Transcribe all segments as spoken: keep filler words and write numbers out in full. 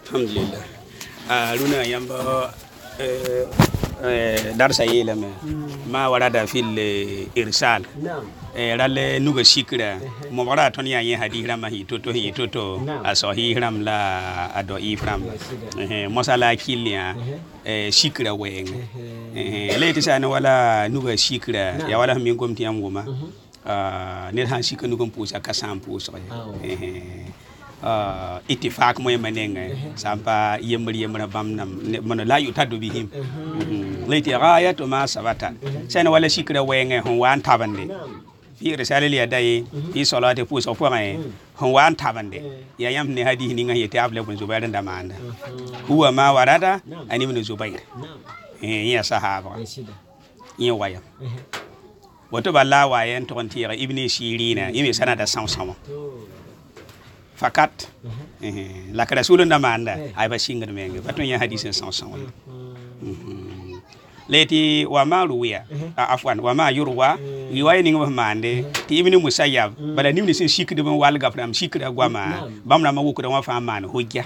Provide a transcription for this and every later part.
alhamdulillah runa yamba darsa yelame ma warada fil irsal ralle nuga shikra mo wara ton ya yin hadira ma hi toto hi toto asahi ram la ado ifram eh mosala kilia shikra wen eh leti sana wala nuga shikra ya wala min gomti am goma ne han shikra nugum pusa kasam pusa eh uh itifak moy manenga sampa yemri yemra bamnam mono la yutadu bihim leti ghayatu ma sabata sana wala shikra wenge hon wan tabande fi risale li adai fi salati pu so point hon wan tabande ya yam ne hadi ni nga yete able bun zubair ndamanda huwa ma warada ani ibn zubair eh ya sahaba yin waya wato balla wayen to kontira ibn shirina yimi sanada sansama fakat eh la ka rasulun ndamanda ay ba singa menga baton ya hadisen sansama leti wa ma ruya afwan wa ma yurwa riwaya ninga mande ti ibn musayyab bala nimni sin shikde ban wal gafram shikda gwama bamna ma wuku da wa fa man hujja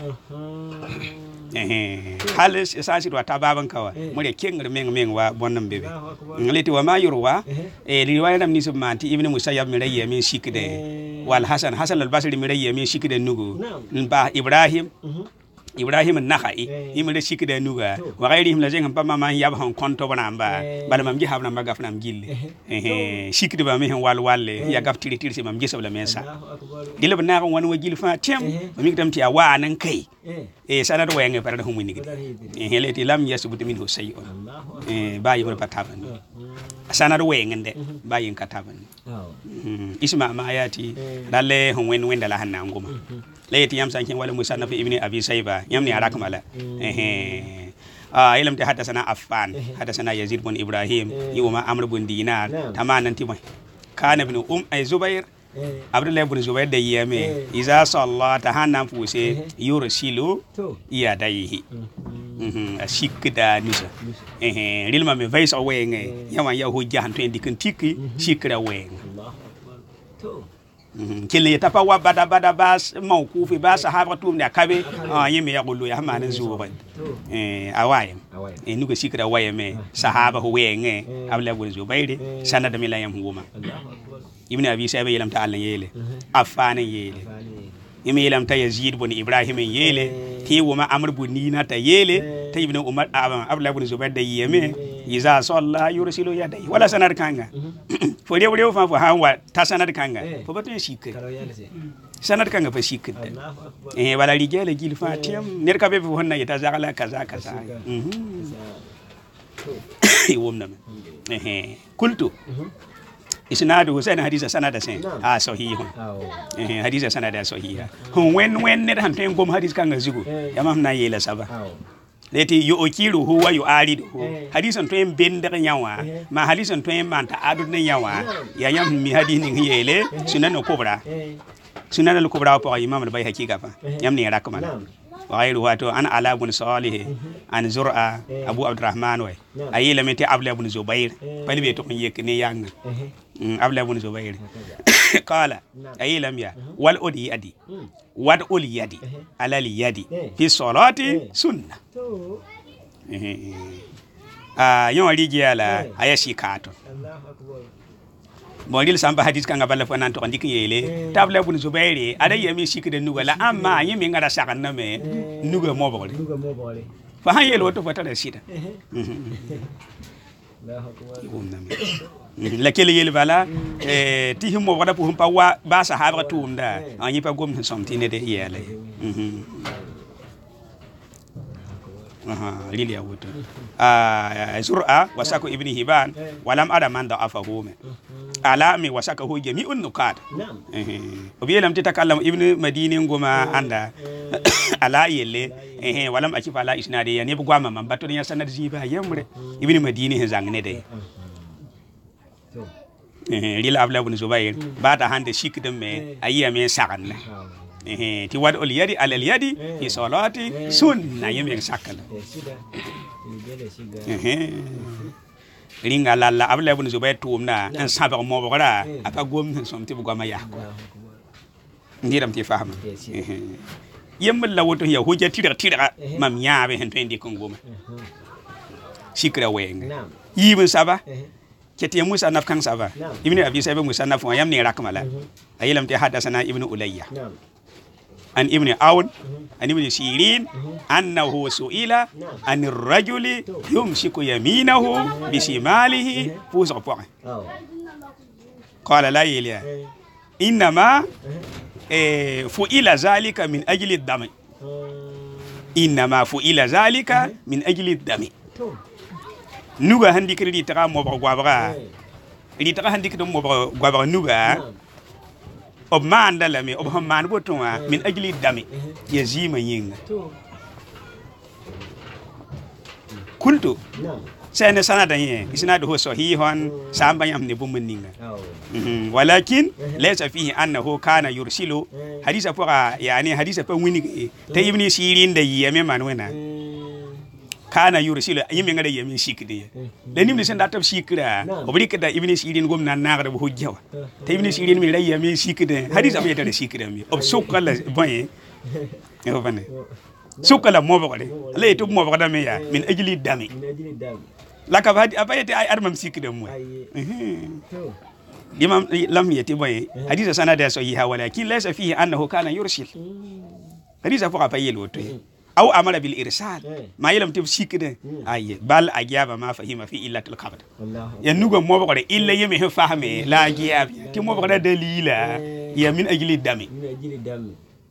eh halis esasi do tababan kawa mure kengre meng meng wa bonnam bebe leti wa ma yurwa e riwaya nam ni submanti ibn musayyab mi rayi min shikde wal hasan hasan al basri mi rayi min shikde nugo ba ibrahim Ibrahim an-Nakhai imre shikde nuga wa ghayrihim la jengam pamma man yab hon konto banamba bala mam ji habna magaf nam gille eh shikde ba mi hen wal walle ya gaf tiri tiri mam ji sabla mensa dile bana gon won wajil fa tem mi tam ti awa nan kai eh sanad wenge par da humuni gidi eh leti lam yasbut min hu sayun eh bayi bol pataban sanad wenge de bayi kataban isma ma ayati dalle hon wen wen dala hanna ngoma leti yam sankin wala musannaf ibn abi sayba yam ni arakmala eh ah ilam ta hadathana affan hadathana yazid bin ibrahim yuma amr bin dinar tamanan timay kana ibn um ay zubair abdullah ibn zubair da yame iza sallata hanan fuse yursilu yadayhi mhm ashikda nisa eh rilma me vaisa wenge yama ya hujja han to indikan tiki shikra wenge kele yata pa wa bada bada bas mawkufi ba sahaba tum ne kabe ah yimi ya gulu ya manan zuwa eh awayem eh nuga shikra wayeme sahaba ho wenge abla gun zubairi sanada milayam huma ibn abi sayba yelam ta Allah yele afana yele yimi yelam ta yazid bin ibrahim yele ti wuma amr bin nina ta yele ta ibn umar abla gun zubair da yeme iza salla yursilu yadai wala sanar kanga fo rew rew fa fo hawa ta sanar kanga fo batun shikka sanar kanga fa shikka eh wala rijala gil fatiyam ner ka be fo honna yata zagala kaza kaza mhm womna eh kultu isnadu husain hadisa sanada sen ah sahihun eh hadisa sanada sahiha hon wen wen ner han ten gom hadis kanga zigo yamam na yela saba leti yo okiru huwa yu alidu hadisan to en bender nyawa ma hadisan to en manta adu ne nyawa ya yam mi hadini yele sunan kubra sunan al kubra pa imam al bayhaqi gafa yam ne rakmala wa ghayru wato an ala ibn salih an zur'a abu abdurrahman wa ayila meti abla ibn zubair bali be to yek ne yang abla ibn zubair qala ayila ya wal udi adi wad ul yadi ala li yadi fi salati sunna ah yon rigiala ayashi kato Allahu akbar modil samba hadis kanga balla fo nan to ndik yele tabla ibn zubairi ada yemi shikde nugala amma yemi ngara sakan na me nuga mo bole nuga mo bole fa han yelo to fata da sida Allahu akbar la kele yele bala eh ti himo wada pu humpa wa ba sahaba tumda anyi pa gom somtine de yele mhm aha lili awuto ah zur'a wasako ibn hiban walam ada man da afahu me ala mi wasaka hu jami'un nukat eh obiyelam titakallam ibn madini ngoma anda ala yele eh walam akifa ala isnade ya ne bugwa mamam bato ya sanad ziba yamre ibn madini he zangne de eh lila abla ibn zubair bata hande shikdem me ayiya me saganna eh ti wad ul yadi ala al yadi fi salati sunna yemi sakala eh ringa lalla abla ibn zubair tumna an sabar mo bora apa gom somti bugama yakko ndiram ti fahama yembal la woto ya hujja tira tira mam yaabe hen to indi kongoma sikra wenga yibin saba kete Musa naf kan saba ibn Abi Sa'ib Musa naf wa yamni rakmala ayilam te hadathana ibn Ulayya an ibn Awn an ibn Sirin annahu su'ila an ar-rajuli yumsiku yaminahu bi shimalihi fusa point qala la ilaha inma fu'ila zalika min ajli ad-dam inma fu'ila zalika min ajli ad-dam nuga handi kiri taka mo gwabra ri taka handi kiri mo gwabra nuga ob manda la me ob man botonwa min ajli dami yazima yinga kuntu sana sana danye isna do sahihon samba yam ne bumuninga walakin laysa fihi annahu kana yursilu hadisa fara yani hadisa fa wini ta ibni sirin da yeme manwena kana yursilu yimi ngada yemi shikde le nimni sen datab shikra obri kada ibni sirin gom nan naga bo hujjawa te ibni sirin mi ray yemi shikde hadisa mi yata shikde mi ob sokala boye e bane sokala mo bokale le to mo bokada me ya min ajli dami la ka hadi abayete ay armam shikde mo imam lam yati boye hadisa sanada so yi hawala kin laysa fihi annahu kana yursil hadisa fuqa payel woto أو أمر بالإرسال ما يلم تفسير كده أيه بل أجاب ما فهم في إلا الخبر ينوغ مو بقدر إلا يمه فهمه لا أجاب تي مو بقدر دليلا يا من أجل الدم من أجل الدم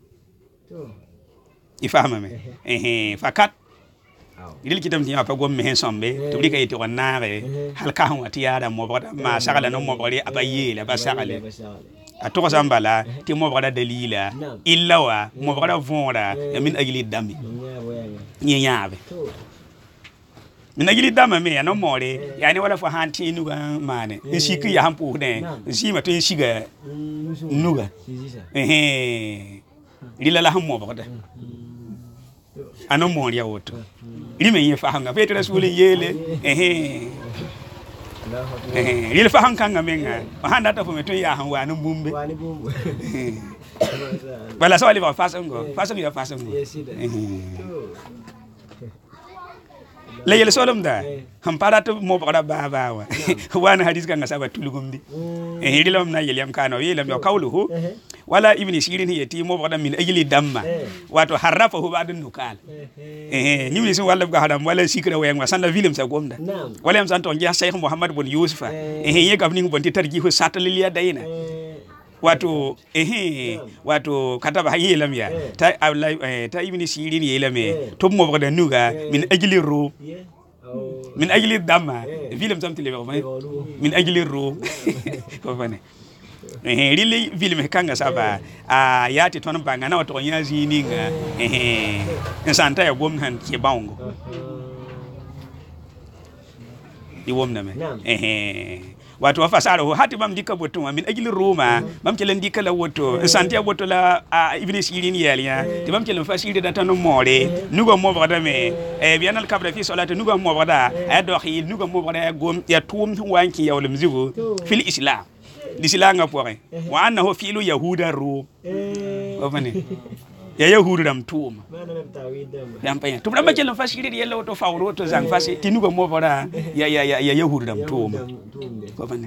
يفهمه إيه فقط إذا كتاب تيجي أبغى مهين سامبي تبلي كي تقول ناره هل كهون تيارا مو بقدر ما سأله نو مو بقدر أبيه لا بس سأله atoka sambala ti mo bada dalila illa wa mo bada vonda min agili dami ni yaabe min agili dama me no more yani wala fo hanti nuga mane nshiki ya hampu ne nshima to nshiga nuga eh lila la hammo bada ano mo ya woto lime ye fa hanga petre rasuli yele eh eh il fa han kanga menga handa ta fo meto ya han wa no bumbe bala so ali va façon go façon ya façon go la yele solom da ham para to mo bara ba ba wa wana hadis kanga saba tulugumdi eh dilam na yele am kano yelam yo kawluhu wala ibni sirin yati mo bara min ajli damma wato harafahu ba'dun nukal eh ni mi sun wala ga hadam wala sikra wayan wa sanda film sa gomda wala am santo ngia Sheikh Muhammad bin Yusufa eh ye gabni bonti tarjihu sataliliya dayina wato eh wato kataba yelam ya ta ta ibni sirin yelam to mo bara nuga min ajli ru min ajli damma film sam tele min ajli ru ko bane eh rili film kanga saba a yati ton banga na wato nya zininga eh nsanta ya gomnan ke baungo di womna me eh wato fasaro hati bam dikka boto min ajli roma bam kelen dikka la woto nsanta ya boto la ibni sirin yaliya ti bam kelen fasiri da tan more nugo mo bada me eh bianal kabra fi salati nugo mo bada ay do khil nugo mo bada gom ya tum wanki yawlum zigo fil islam lisilanga poore wa annahu fi'lu yahuda ru ofane ya yahudu dam tuuma yam paya tum dam jelo fasiri yella to fawro to zang fasi tinugo mo bora ya ya ya yahudu dam tuuma ofane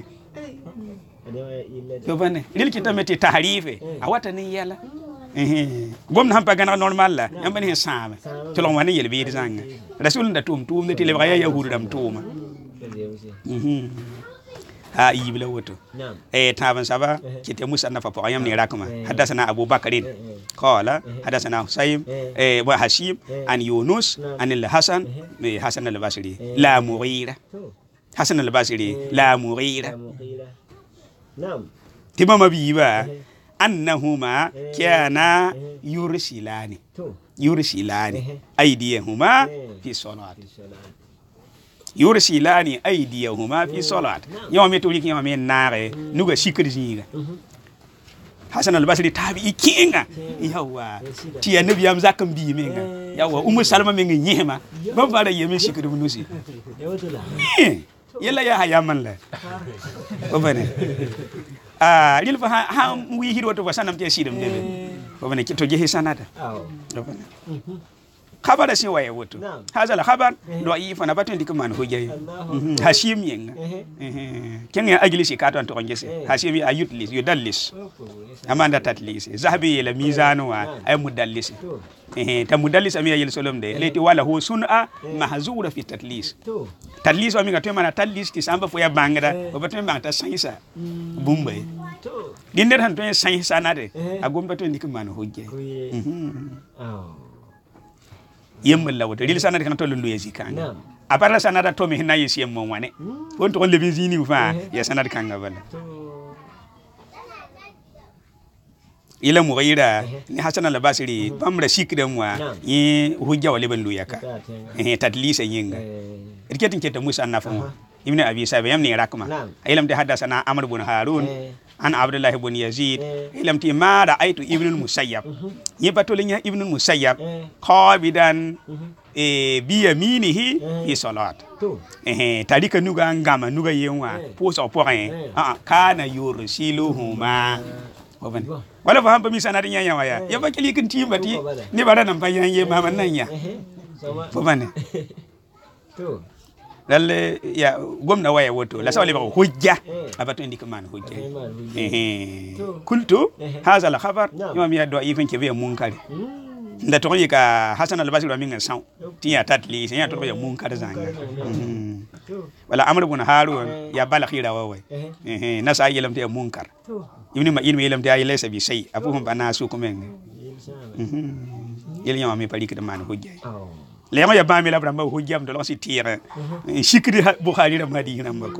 ofane lil kitameti tahrife awata ni yalla eh gom na pagana normal la yam bani sama to lon wani yel bi zanga rasul nda tum tum ne tele ya yahudu dam tuuma mhm ha yibla woto eh taban saba kite musa nafa po ayam ni rakma hadathana Abu Bakarin qala hadathana Husaym eh wa Hashim an Yunus an al-Hasan bi Hasan al-Basri la Mughira Hasan al-Basri la Mughira nam timama biba annahuma kana yursilani yursilani aydiyahuma fi salati yursilani aydiyahuma fi salat yawmi to likin yawmi naare nuga shikri jinga Hasan al-Basri tabi ikinga yawa ti annabi am zakam bi menga yawa ummu salma menga nyema ba fara yemi shikri munusi yalla ya hayaman la ko bane ah lil fa ha wi hirwato fa sanam te sidam debe fo bane to je sanada aw خبر سي واي وتو هذا الخبر ضعيف انا باتن ديك مان هوجاي هاشيم ين كان اجلس كاتون تو نجس هاشيم ايوتليس يدلس اماندا تاتليس ذهبي الى ميزان اي مدلس تا مدلس امي يل سولم دي ليتي ولا هو سنة محظوره في التدليس تدليس امي غاتو مانا تدليس تي سامبا فويا بانغدا وباتن بانتا سايسا بومباي دي ندر هان تو سايسا نادي اغوم باتن ديك مان هوجاي yemma lawto ril sanade kan tollu yesi kanga apara sanada to mi hina yesi yemmo wane won to le bizini fa ya sanade kanga bala ila mu gayira ni hasana la basiri pamra sikre mwa yi hujja wale ban luyaka eh tadlisa yinga riketin keta musa nafa ibn abi sabi yamni rakma ilam de hadasana amr ibn harun an abdullah ibn yazid ilam ti ma ra'aytu ibn al-musayyab yibatolinya ibn al-musayyab qabidan e bi yaminihi fi salat eh tarika nuga ngama nuga yenwa poso point ah kana yursiluhuma obani wala fa hamba mi sanadi nyanya waya yaba kili kin timbati ni bara nan bayan ye mama nanya obani to lalle ya gomna waya woto la sawle ba hujja abatu indi man hujja eh kuntu hadha al khabar yoma mi do ifin ke be munkari nda to ka hasan al basri min san tiya tatli ya to be munkar zanga wala amr ibn harun ya bala khira wawai eh na sa yelam te munkar ibn ma ilmi yelam te ay laysa bi shay abuhum bana su ko men yel yoma mi pali ke man hujja lema ya bami la bramba hujjam do losi tire shikri bukhari da madina mbako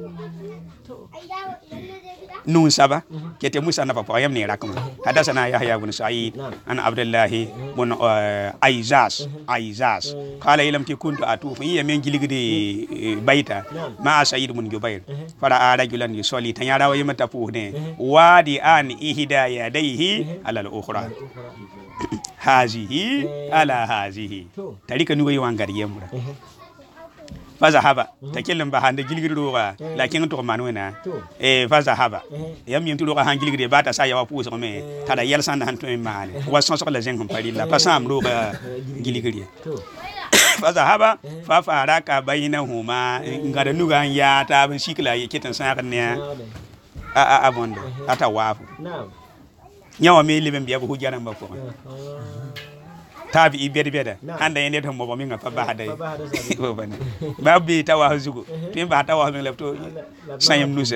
nun saba kete musa na papa yam ne rakama hadasana yahya ibn sa'id an abdullah ibn aizas aizas qala ilam ti kuntu atufu iya men giligide baita ma sa'id ibn jubair fara rajulan yusalli tanyara wa yamata puhne wadi an ihda yadayhi ala al-ukhra hazihi ala hazihi tarika nugo yangari yemra faza haba takellem ba hande gilgiri do ga lakin to manu na eh faza haba yam yim to do ga han gilgiri ba ta sa ya wa puso me tada yel san han to male wa son so la zen pari la pasam do ga gilgiri faza haba fa fara ka bainahuma ngada nuga ya ta ban shikla yake tan sa kan ne a a abondo ata wafu nyawa me liben biya bu hujjaran ba ko tabi ibede beda handa yende to mo mi ngapa ba hada ko bane babbi tawa hazugo tim ba tawa mi lepto sayem nuse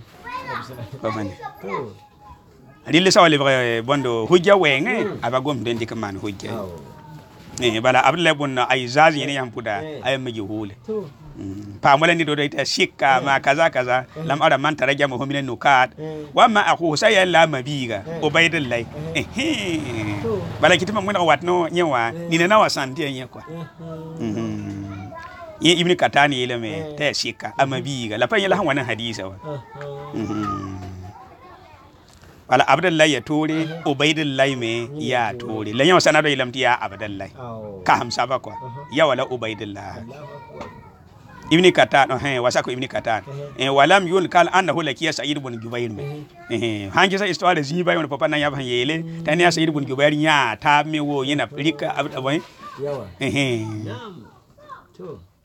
ko bane rille sawale bondo hujja wenge aba gom den dik man hujja eh bala abdullah ibn aizaz yene yampuda ay maji hule pa mola ni do do ita shikka ma kaza kaza lam ara man taraja mo hominen nukat wa ma akhu sayya la mabiga ubaydillah eh bala kitima mo na watno nyewa ni na wasanti yen kwa mhm ye ibn katani ile me ta shikka amabiga la pa yela han wannan hadisa wa mhm wala abdullah ya tore ubaydillah me ya tore la yawa sanado ilam ti ya abdullah ka hamsa ba kwa ya wala ubaydillah ibn katan eh wasako ibn katan eh walam yul kal annahu lakiya sa'id ibn jubair me eh hanji sa histoire ziba yon papa nan ya ban yele tan ya sa'id ibn jubair nya ta me wo yana rika abdawai yawa eh to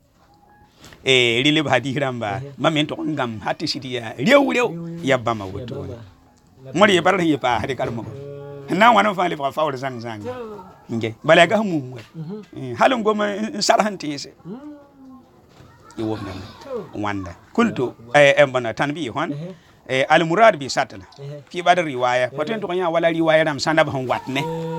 eh rile ba diramba mamen to ngam hatti sidiya rew rew yabba ma woto mori bar hi pa hade kalmo na wana fa le fa fawr zang zang nge balaga mu halon goma sarhanti se يومنا واندا كنت امبنا تنبيه هون المراد بساتنا في بعض الروايه فتن تو كان ولا روايه نام ساندا بهن واتنه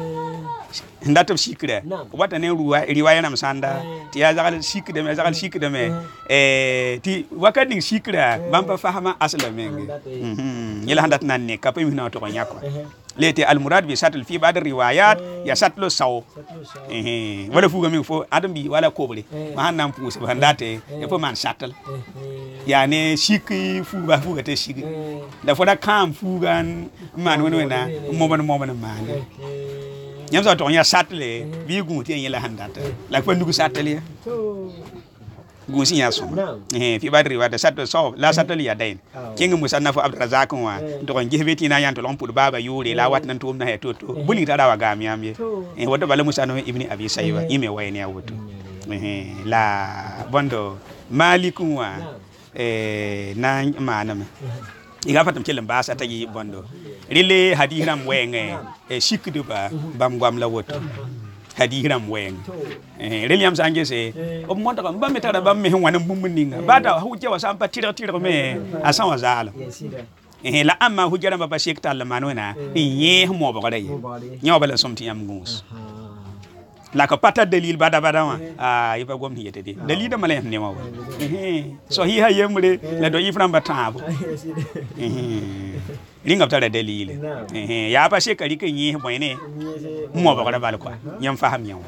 ndato sikre wata ne riwaya nam sanda ti ya zagal sikre me zagal sikre me eh ti wakati sikra bamba fahama asla menge mhm yela handat nan ne kapay mi na to nyako leti al murad bi satul fi ba'd riwayat ya satlu saw eh wala fuga mi fo adam bi wala kobre ma hanam puuse ba ndate e fo man satal ya ne sikki fuga fuga te sikki da fo da kam fugan man wona na mo ban mo ban man nyam sa to nya satle bi gu ti yela handata la ko ndugu satale gusi ya sum eh fi badri wa da satto so la satto ya dain kinga musannafu abdurazak wa to kon gihbeti na yanto lon pul baba yuri la wat nan tum na he to to buli tada wa gam yam ye eh wato bala musannafu ibni abi sayba ime wayne ya woto eh la bondo malikun wa eh na manam iga fatam kelen ba sa tagi bondo rile hadiram wenge e shikdu ba bam gwam la woto hadiram weng eh William sange se o monta ko ba metara ba me wana bumuninga bata huje wa sampa tira tira me asan wa zala eh la amma hujara ba shek tal manona ye mo ba gade nyaw bala somti am gus la ko pata dalil bada bada wa ah iba gom hiyete de dalil da malen ne ma eh so hi ha yemre la do ifram batabo eh linga tara dalil eh ya ba shekari kan yi boyne mo ba gada bal kwa nyam faham yaw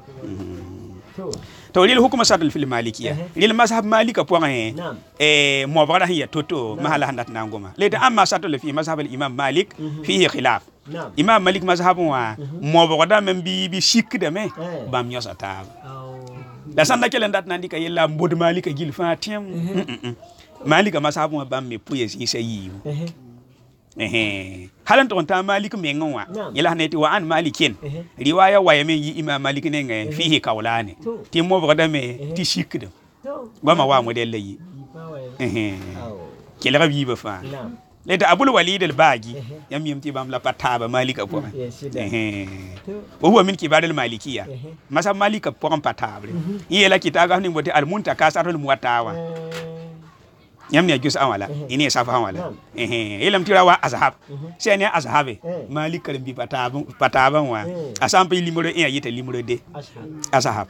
to lil hukuma sadal fil malikiya lil mazhab malika point eh mo ba gada hiya toto mahala handat nangoma le amma sadal fi mazhab al imam malik fihi khilaf imam malik mazhab wa mo ba gada men bi bi shik de me bam nyosa ta da sanda kelen dat nandi ka yella mbod malika gil fatim malika mazhab wa bam me puye si sayi eh halan to ta malik mengon wa yala ne ti wa an malikin riwaya wa yemen yi imam malik ne ngai fihi kaulani ti mo bada me ti shikde goma wa model yi eh kila rabi ba fa le da abul walid al bagi yam yim ti bam la pataba malika po eh o huwa min kibar al malikiya masa malika po kan patable yela kitaga ni mbote al muntaka sarul muwatawa yamni ajus awala ini safa awala eh ilam tirawa azhab sene azhabe malik karim bi pataba pataba wa asampe limuro e yite limuro de azhab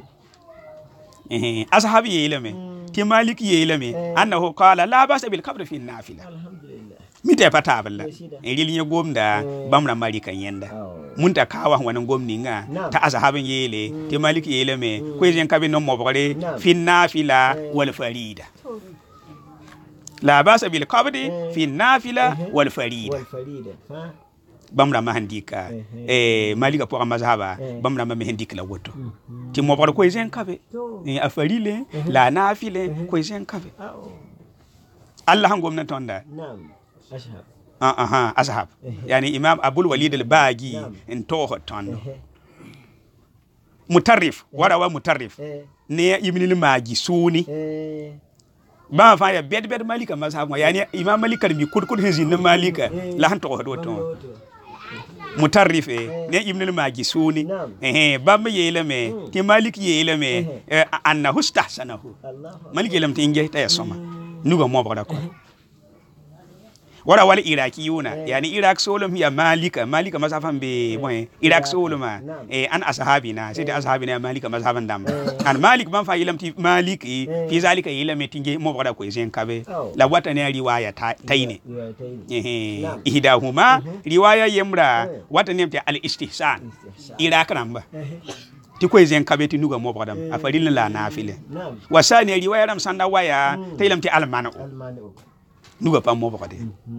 eh azhab yelame ti malik yelame annahu qala la basa bil qabr fi nafila alhamdulillah mite pataba la e linya gomda bamra malika yenda munta kawa wannan gomni nga ta azhabin yele ti malik yelame ko yen kabe no mobore fi nafila wal farida la basa bil qabdi fi nafila wal farida bamra ma handika eh malika pour mazhaba bamra ma handika la woto ti mo bor ko zen kabe ni afarile la nafile ko zen kabe Allah ngom na tonda nam ashab ah aha ashab yani imam abul walid al bagi en to tondo mutarrif wara wa mutarrif ne ibn al magi suni ba fa ya bed bed malika mazhab yani imam malika mi kud kud hezin na malika la han to do to mutarrif ne ibn al majisuni eh ba me yele me ti malik yele me annahu istahsanahu malik yelam tinge ta yasoma nugo mo bada ko wala wala iraqiyuna yani iraq solum ya malika malika mazhaban be moy iraq soluma eh an ashabina sai da ashabina malika mazhaban dam an malik man fa ilam ti maliki fi zalika ilam tinge mo bada ko zen kabe la wata ne riwaya tayne eh ihdahuma riwaya yamra wata ne al istihsan iraq ramba ti ko zen kabe ti nuga mo bada afaril la nafile wasani riwaya ram sanda waya taylam ti almanu nuga pa mo bokade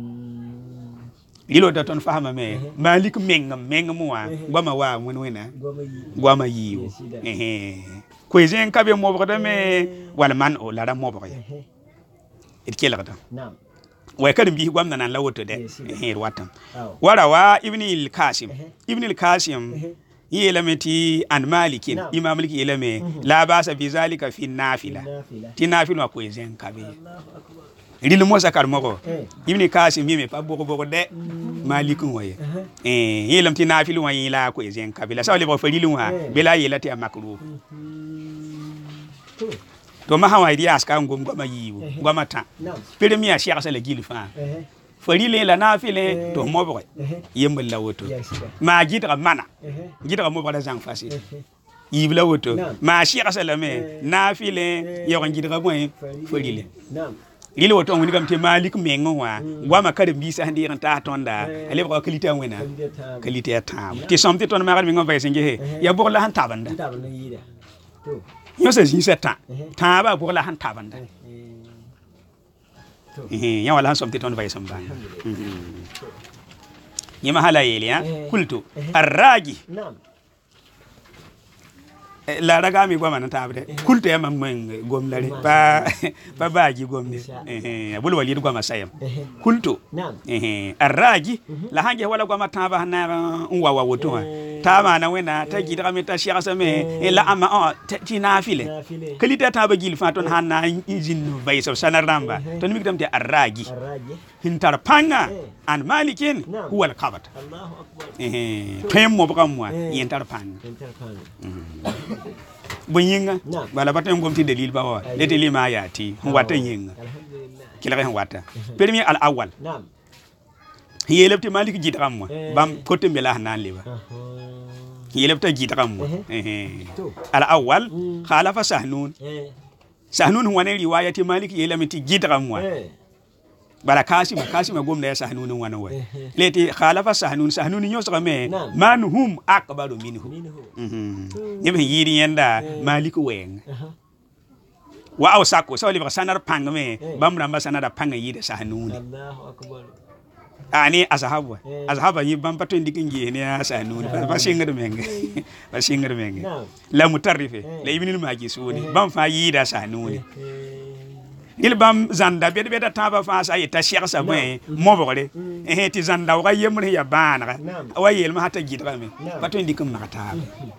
ilo da ton fahama me malik meng meng mo wa goma wa mun wena goma yiwo eh ko jen kabe mo bokade me wala man o la mo bokade it kela ta na'am way kadum bi gwamna nan lawoto de eh watam wara wa ibn al kasim ibn al kasim yelameti an malikin imam malik yelame la basa bi zalika fi nafila ti nafila ko jen kabe ril mo sakar moko ibni kasim mi me pa boko boko de malikun waye eh yelam ti nafilu wayi la ko zen kabila sawle bo farilu wa bela yelati amakru to ma hawa ri aska ngom goma yiwo goma ta premier cheikh sala gilfa farile la nafile to mo bo yembal la woto ma jitra mana jitra mo bada jang fasi yibla woto ma cheikh sala me nafile yo jitra mo farile lilo wato ngoni kam te malik mengo wa ngwa makare mbisa handi ran ta tonda ale ko kalite wena kalite ta ti somti ton ma mengo vai singe he ya bo la han tabanda yo se jin seta ta ba bo la han tabanda eh ya wala han somti ton vai samba yima hala yele ya kultu arraji la raga mi goma na tabre kulto ya mam men gom lare ba ba baji gom ni eh bul walid goma sayam kulto eh arraji la hange wala goma taba na unwa wa woto tama na wena ta gidra mi ta shiya same la ama o ti na file kalita taba gil faton hanna injin bay so sanaramba to mi gidam te arraji hintar panga an malikin huwa al-qabat Allahu akbar eh pem mo bamwa yentar panga yentar panga bunyinga bala batem gomti dalil ba wa lete lima ayati wata yinga alhamdulillah kila kan wata premier al awwal naam yelebti malik jidram bam kote mela hanan leba yelebta jidram eh al awwal khalafa sahnun sahnun huwa ne riwayati malik yelemti jidram wa bala kasim kasim gomna ya sahnun wana wa leti khalafa sahnun sahnun nyos game man hum akbaru minhu mhm yebe yiri yenda malik wen wa aw sako so libra sanar pangme bamra ma sanada panga yide sahnun Allahu akbar ani azhabu azhaba yi bam pato ndikin gi ne sahnun ba singar menge ba singar menge la mutarrife la ibnul maji suni bam fa yida sahnun il bam zanda bed beda taba fa sa yeta cheikh sa boy mobore eh ti zanda wa yemre ya bana wa yel ma hata gidra me bato ndikum makata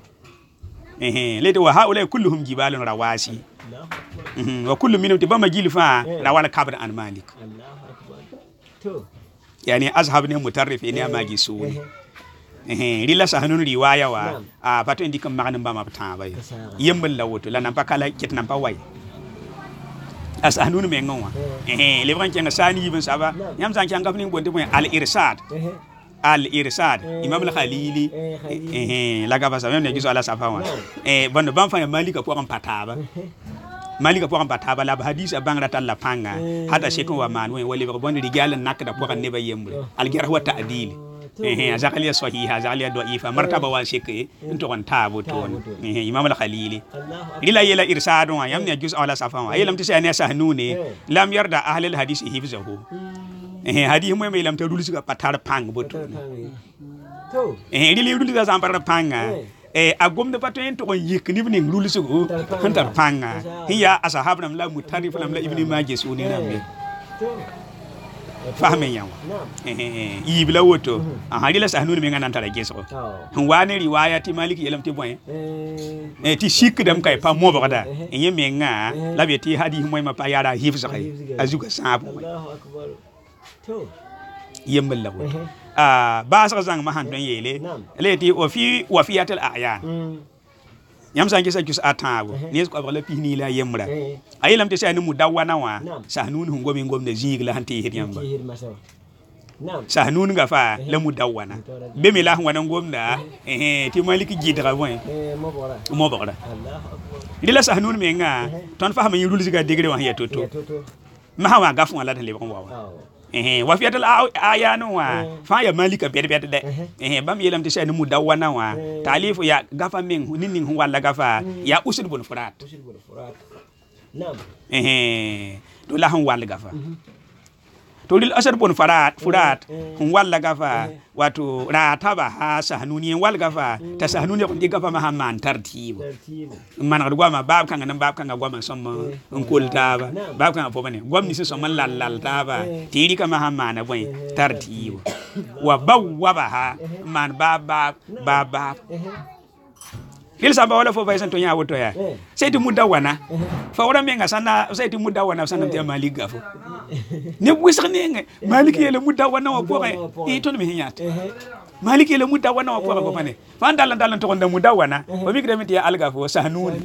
eh lede wa haula kulluhum jibalun rawasi wa kullu minhum tibama jilfa rawal kabr an malik Allahu akbar to yani azhab ne mutarrif ne magi suni eh rila sahanun riwaya wa a bato ndikum magana bama taba yembal lawoto la nan pakala ket nan pa way asahnun me ngwa eh lebran kenga sani ibn saba yam san kenga fini bonde mo al irsad al irsad imam al khalili eh la gaba sa même ne giso ala safa wa eh bonde ban fa malika ko am pataba malika ko am pataba la hadis bangra tal la panga hata shekon wa man wali bonde rigal nak da ko ne ba yembre al jarh wa ta'dil eh azaqaliya sahiha azaqaliya da'ifa martaba wa shekay into kon tabo ton eh imam al khalili lila yela irsadun wa yamni juz ala safan wa yelam tisani sahnuni lam yarda ahli al hadith hifzahu eh hadith mo me lam ta dulisi ka patar pang boton to eh lili dulisi ka sampar panga eh agom de paten to yik ni ni dulisi ko hantar panga hiya ashabna la mutarif lam la ibni majis uni nambe fahme yawa eh yibla woto aha dila sahnun me ngana tara geso hon wani riwayati maliki yelam ti boy eh ti shik dam kay pa mo bada enye me nga labe ti hadi moy ma pa yara hifza kay azuka sabu Allahu akbar to yembal la woto ah ba sa zang ma han don yele leti wa fi wa fiyatul a'yan yam sanki sa jus atawo ne ko abala pini la yemra ayilam te sani mudawana wa sahnun hu ngomi ngom de jigla hanti hit yamba sahnun ga fa la mudawana be mi la wana ngom da eh ti maliki jidra boy eh mo bora mo bora Allahu akbar dila sahnun me nga ton fa ma yirul ziga degre wa ya toto ma hawa gafu wala de le ko wawa eh wa fiyatul ayanu wa fa ya malika bed bed de eh bam yelam te sani mudawana wa talifu ya gafa men ninin hu wala gafa ya usul bul furat usul bul furat nam eh do la han wala gafa to lil asar bun farat furat hun wala gafa wato rataba ha sahnuni wal gafa ta sahnuni ko gafa ma hamman tartibu man gwa ma bab kan nan bab kan gwa ma somma on kultaba bab kan fo bane gwamni si somma lallal taba tiri ka ma hamman boy tartibu wa bawwabaha man bab bab bab il samba wala fo baysan to nya woto ya seyti mudawana fa wala menga sana seyti mudawana sana te maliga fo ne wisx ne maliki yele mudawana wa ko e to me hinyat maliki yele mudawana wa ko ko bane fa ndal ndal to gonda mudawana o mi gremiti ya alga fo sahnun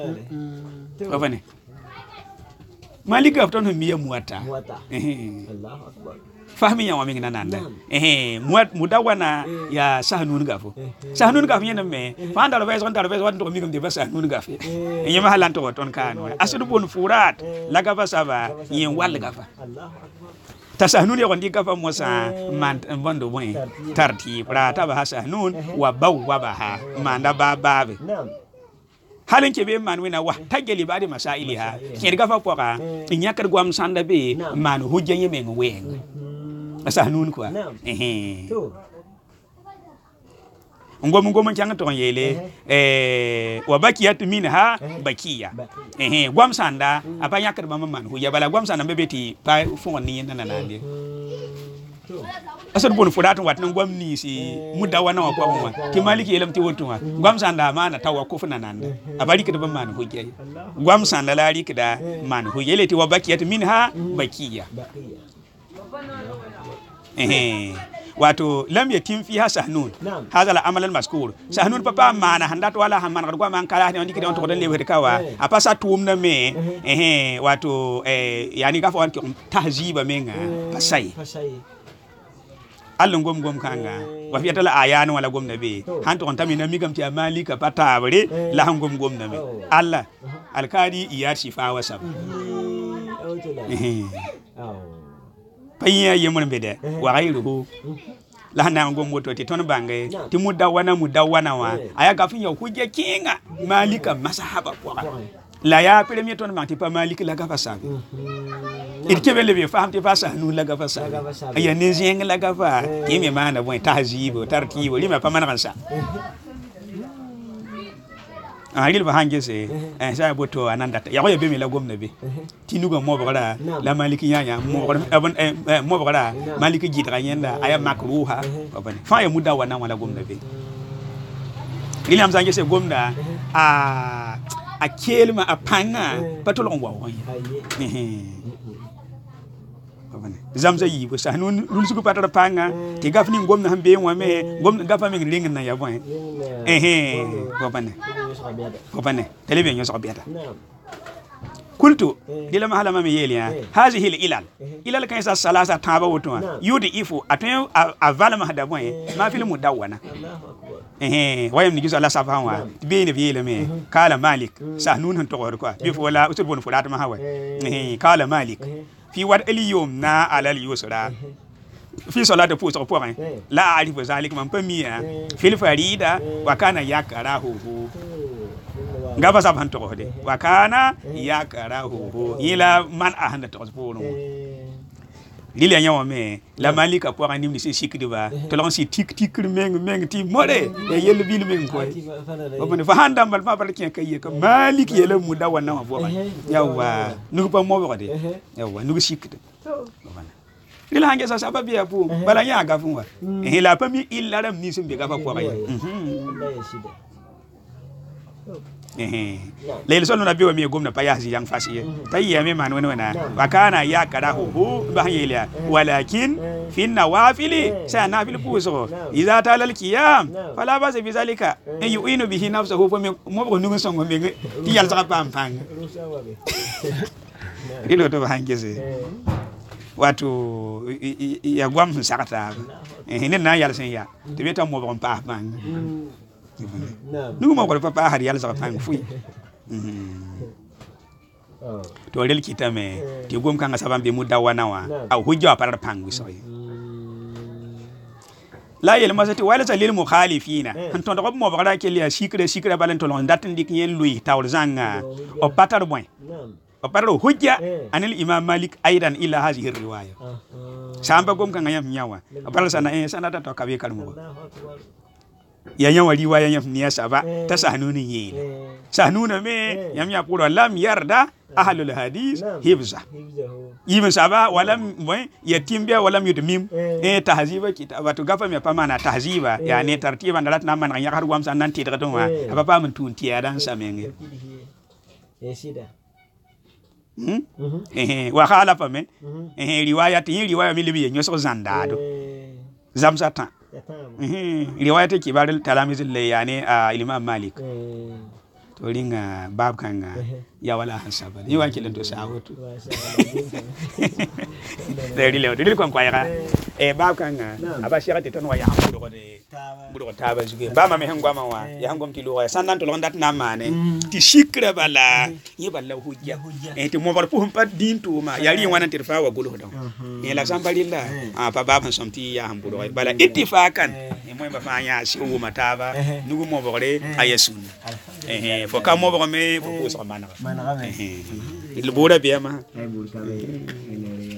ko bane malika to no miya muata Allahu akbar fahmi ya wami ngana nanda eh muat mudawana ya sahnun gafo sahnun gafo nyena me fa ndal beso ndal beso wadto mi gam de sahnun gafo e ma halan to ton kan asudu bon furat la gafa saba yen wal gafa Allahu akbar ta sahnun ya gondi gafa mosa man bondo boy tarti pra ta ba sahnun wa bawwabaha manda bababe halin ke be man wina wa tageli badi masailiha ke gafa poka nyakar gwam sanda be man hujjanye men weng sahnun quoi eh ngom ngom kyang to yele eh wa bakiyat minha bakiya eh gwam sanda apa yakar ba man hu ya bala gwam sanda bebeti pa fon ni nana nande asal bon fudat wat nan gwam ni si mudawana wa kwa mwa ki maliki yelam ti wotuma gwam sanda mana tawa ko funa nande abari kida ba man hu je gwam sanda lari kida man hu yele ti wa bakiyat minha bakiya eh wato lam yatim fiha sahnun hadha al amal al mazkur sahnun papa mana handat wala hamman gargo man kala ni ndikide on to den lewe kawa apasa tumna me eh wato eh yani gafa wan ki tahziba menga pasai Allah gom gom kanga wa fiyata la ayanu wala gom nabe hanto on tamina migam ti amalika patabre la han gom gom nabe Allah alkadi iya shifa wasab eh paya yemun bede wa gairuhu la hana ngom moto ti ton bangai ti mudda wana mudda wana wa aya gafin ya kuje kinga malika masahaba kwa la ya premier ton manti pa malika la gafa sabi it kebele be fam ti fasa nu la gafa sabi aya ne zeng la gafa ti me mana bon tahzibo tartibo lima pa mana kansa agil ba hange se eh sa boto ananda ya ko be mi la gomna be tinugo mo bala la maliki nyanya mo abon eh mo bala maliki jitra nyenda aya makruha babane fa ya muda wana wala gomna be ili am zange se gomna a a kelma a panga patolon wa won babane zamza yi bo sa nun lulsugo patara panga ti gafni gomna hambe wa me gomna gafa me ling na ya bon eh eh babane babane telebi nyo so biata kultu dila mahala mami yelia hazihi ilal ilal kan sa salasa taba wotwa yudi ifu atun avala mahada bon ma fil mudawana eh wayam ni giso Allah safawa be ne yele me kala malik sahnun han to ko bi fo wala usul bon fulat ma hawa eh kala malik fi wad aliyum na alal yusra fi salatu fu so point la arifu zalik man pamia fil farida wa kana yakarahu ngaba sab han to de wa kana yakarahu ila man ahanda to spono lili nyawa me la malika pour anim ni sikidi ba to lon si tik tik meng meng ti more e yel bil meng ko obone fa handa mal fa bar ken kay ka malik yele mu dawa na bo ba yawa nugo pa mo ba de yawa nugo sikidi lila hange sa sababu ya pu bala nya ga funwa e la pa mi illa ram ni simbe ga fa ko ba eh lele solo na biwa mi gomna payasi yang fasi tayya me man wona wana wakana ya karahu ba yelia walakin fi nawafili sa nafil puso idza talal qiyam fala ba bi zalika en yuinu bihi nafsuhu fa mo ko nungu songo me ti yal sa pam pang ilo to hangese watu ya gwam sakata eh ne na yal sen ya to beta mo bon pa pang nugu mo ko papa har yalla sa pang fui to rel kitame ti gom kanga sabam be mudda wana wa aw hujja parar pang wi soy la yel masati wala salil mukhalifina anton do mo bagara ke liya sikre sikre balen to lon datin dik yen lui tawr zanga o patar boy o parar hujja anil imam malik aidan ila hadhihi riwaya samba gom kanga yam nyawa o parar sana e sanata to kabe kalmo ya nyawa riwaya yam niya saba ta sahnuni yele sahnuna me yam ya puro lam yarda ahlul hadis hibza yimin saba walam boy yatimbiya walam yudmim e tahziba kitaba to gafa me pamana tahziba ya ne tartiba ndalat na man ya har gwam san nan tidra to wa aba pa mun tun tiya dan samenge e sida hmm eh wa khala pa me eh riwaya ti riwaya mi libi nyoso zandado zamsata eh riwaya ti kibarul talamizul layani imam malik to ringa bab kanga ya wala hasaba ni wa kilen to sawoto dari le dari kon kwaya e bab kanga aba shirati ton wa ya hambudo ko de budo taba zuge ba ma me hangwa ma wa ya hangom ti lo ya sandan to londat na mane ti shikra bala yi balla hujja e ti mo bar pu pat din to ma ya ri wanan tirfa wa gulu don e la sambalilla a pa bab somti ya hambudo bala ittifakan e mo ba fa ya si o mataba nugu mo bore ayasun eh fo ka mo ba me fo ko so manaka manaka eh il bura biya ma